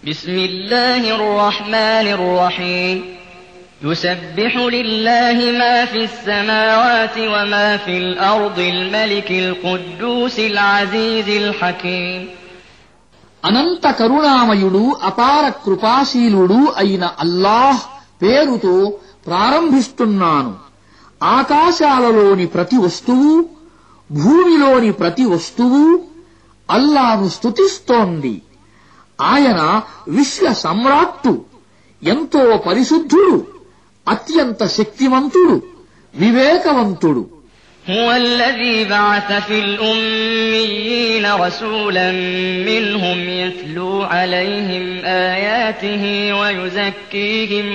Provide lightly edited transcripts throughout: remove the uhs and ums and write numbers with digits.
بسم الله الرحمن الرحيم يسبح لله ما في السماوات وما في الأرض الملك القدوس العزيز الحكيم అనంత కరుణామయుడు అపార కృపాశీలుడు అయిన అల్లాహ్ పేరుతో ప్రారంభిస్తున్నాను. ఆకాశాలలోని ప్రతి వస్తువు, భూమిలోని ప్రతి వస్తువు అల్లాహ్ను స్తుతిస్తోంది. ఆయన విశ్వ సమ్రాట్టు, ఎంతో పరిశుద్ధుడు, అత్యంత శక్తివంతుడు, వివేకవంతుడు. هو الذي بعث في الأميين رسولا منهم يتلو عليهم آياته ويزكيهم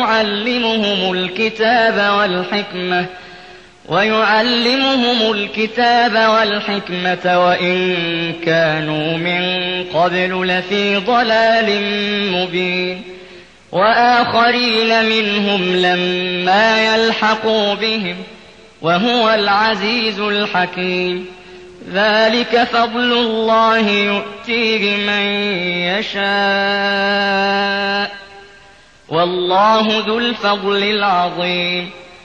ويعلمهم الكتاب والحكمة وإن كانوا من قبل لفي ضلال مبين وآخرين منهم لما يلحقوا بهم وهو العزيز الحكيم ذلك فضل الله يؤتيه من يشاء والله ذو الفضل العظيم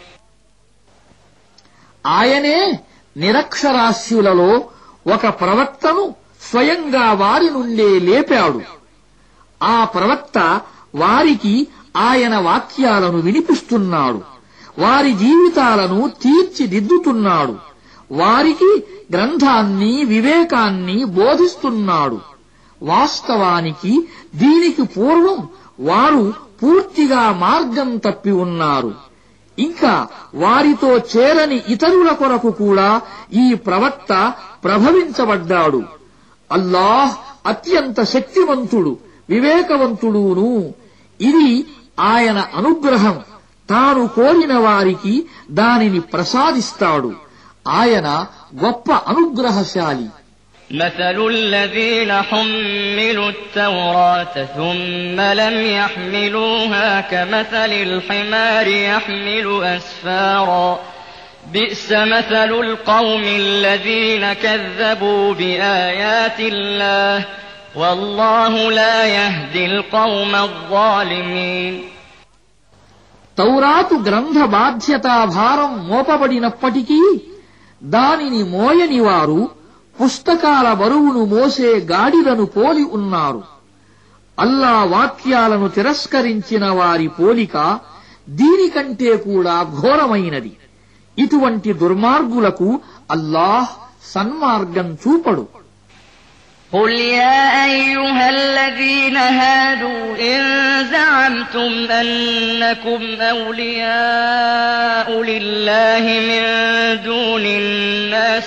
ఆయనే నిరక్షరాస్యులలో ఒక ప్రవక్తను స్వయంగా వారి నుండే లేపాడు. ఆ ప్రవక్త వారికి ఆయన వాక్యాలను వినిపిస్తున్నాడు, వారి జీవితాలను తీర్చిదిద్దుతున్నాడు, వారికి గ్రంథాన్ని, వివేకాన్ని బోధిస్తున్నాడు. వాస్తవానికి దీనికి పూర్వం వారు పూర్తిగా మార్గం తప్పి ఉన్నారు. ఇంకా వారితో చేరని ఇతరుల కొరకు కూడా ఈ ప్రవక్త ప్రభవించబడ్డాడు. అల్లాహ్ అత్యంత శక్తివంతుడు, వివేకవంతుడును. ఇది ఆయన అనుగ్రహం. తాను కోరిన వారికి దానిని ప్రసాదిస్తాడు. ఆయన గొప్ప అనుగ్రహశాలి. مثل الذين حملوا التوراة ثم لم يحملوها كمثل الحمار يحمل أسفارا بئس مثل القوم الذين كذبوا بآيات الله والله لا يهدي القوم الظالمين తౌరాతు గ్రంథ బాధ్యతా భారం మోపబడినప్పటికీ దానిని మోయని వారు పుస్తకాల బరువును మోసే గాడిదను పోలి ఉన్నారు. అల్లా వాక్యాలను తిరస్కరించిన వారి పోలిక దీనికంటే కూడా ఘోరమైనది. ఇటువంటి దుర్మార్గులకు అల్లాహ్ సన్మార్గం చూపడు. قل يا أيها الذين هادوا إن زعمتم أنكم أولياء لله من دون الناس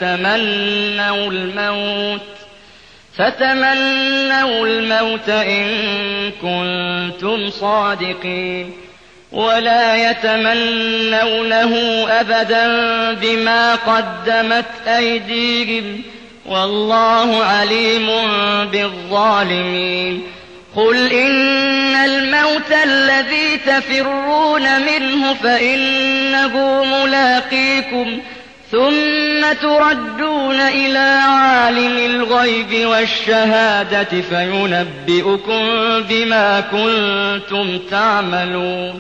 فتمنوا الموت إن كنتم صادقين ولا يتمنونه أبدا بما قدمت أيديهم والله عليم بالظالمين قل إن الموت الذي تفرون منه فإنه ملاقيكم ثم تردون إلى عالم الغيب والشهادة فينبئكم بما كنتم تعملون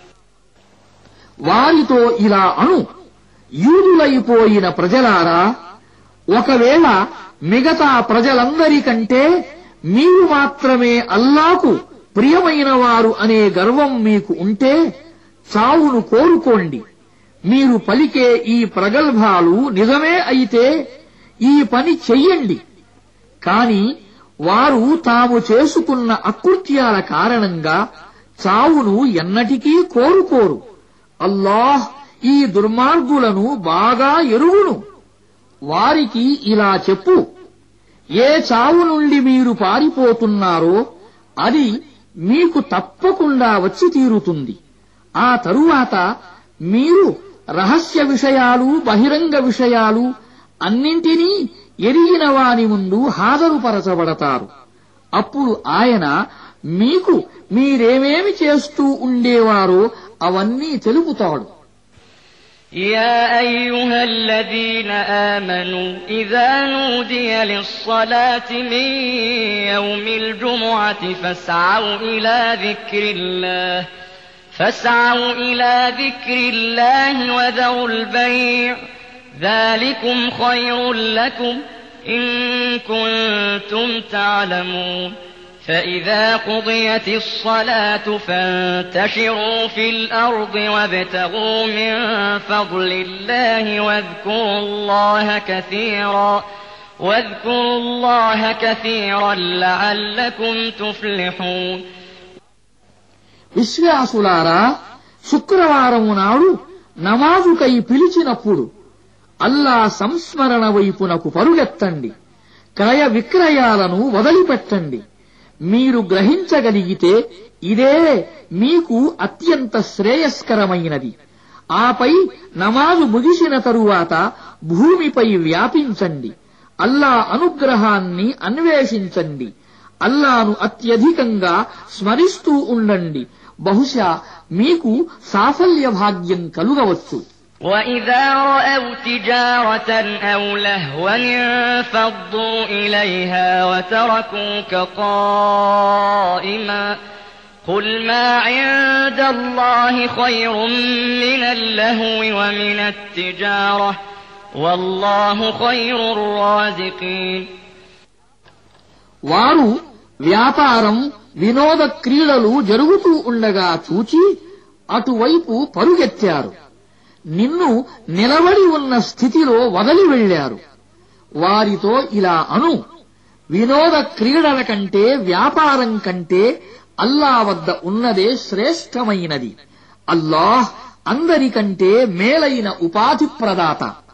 వారితో ఇలా అను, యూదులైపోయిన ప్రజలారా, ఒకవేళ మిగతా ప్రజలందరికంటే మీరు మాత్రమే అల్లాకు ప్రియమైన వారు అనే గర్వం మీకు ఉంటే చావును కోరుకోండి. మీరు పలికే ఈ ప్రగల్భాలు నిజమే అయితే ఈ పని చెయ్యండి. కాని వారు తాము చేసుకున్న అకృత్యాల కారణంగా చావును ఎన్నటికీ కోరుకోరు. అల్లాహ్ ఈ దుర్మార్గులను బాగా ఎరుగును. వారికి ఇలా చెప్పు, ఏ చావు నుండి మీరు పారిపోతున్నారో అది మీకు తప్పకుండా వచ్చి తీరుతుంది. ఆ తరువాత మీరు రహస్య విషయాలు, బహిరంగ విషయాలు అన్నింటినీ ఎరిగిన వాని ముందు హాజరుపరచబడతారు. అప్పుడు ఆయన మీకు మీరేమేమి చేస్తూ ఉండేవారో అవన్నీ తెలుపుతాడు. يا أيها الذين آمنوا إذا نودي للصلاة من يوم الجمعة فاسعوا إلى ذكر الله وذروا البيع ذلكم خير لكم إن كنتم تعلمون فإذا قضيت الصلاة فانتشروا في الأرض وابتغوا من فضل الله واذكروا الله كثيرا لعلكم تفلحون. విశ్వాసులారా, శుక్రవారము నాడు నమాజుకై పిలిచినప్పుడు అల్లా సంస్మరణ వైపునకు పరుగెత్తండి, క్రయ విక్రయాలను వదిలిపెట్టండి. మీరు గ్రహించగలిగితే ఇదే మీకు అత్యంత శ్రేయస్కరమైనది. ఆపై నమాజు ముగిసిన తరువాత భూమిపై వ్యాపించండి, అల్లా అనుగ్రహాన్ని అన్వేషించండి, అల్లాను అత్యధికంగా స్మరిస్తూ ఉండండి. బహుశా మీకు సాఫల్య భాగ్యం కలుగవచ్చు. وَإِذَا رَأَوْا تِجَارَةً أَوْ لَهْوًا انفَضُّوا إِلَيْهَا وَتَرَكُوكَ قَائِمًا قُلْ مَا عِندَ اللَّهِ خَيْرٌ مِّنَ اللَّهْوِ وَمِنَ التِّجَارَةِ وَاللَّهُ خَيْرُ الرَّازِقِينَ. వారు వ్యాపారం, వినోద క్రీడలు జరుగుతూ ఉండగా చూచి అటువైపు పరుగెత్తారు, నిన్ను నిలబడి ఉన్న స్థితిలో వదిలి వెళ్లారు. వారితో ఇలా అను, వినోద క్రీడల కంటే వ్యాపారం కంటే అల్లా వద్ద ఉన్నదే శ్రేష్టమైనది. అల్లాహ్ అందరికంటే మేలైన ఉపాధి ప్రదాత.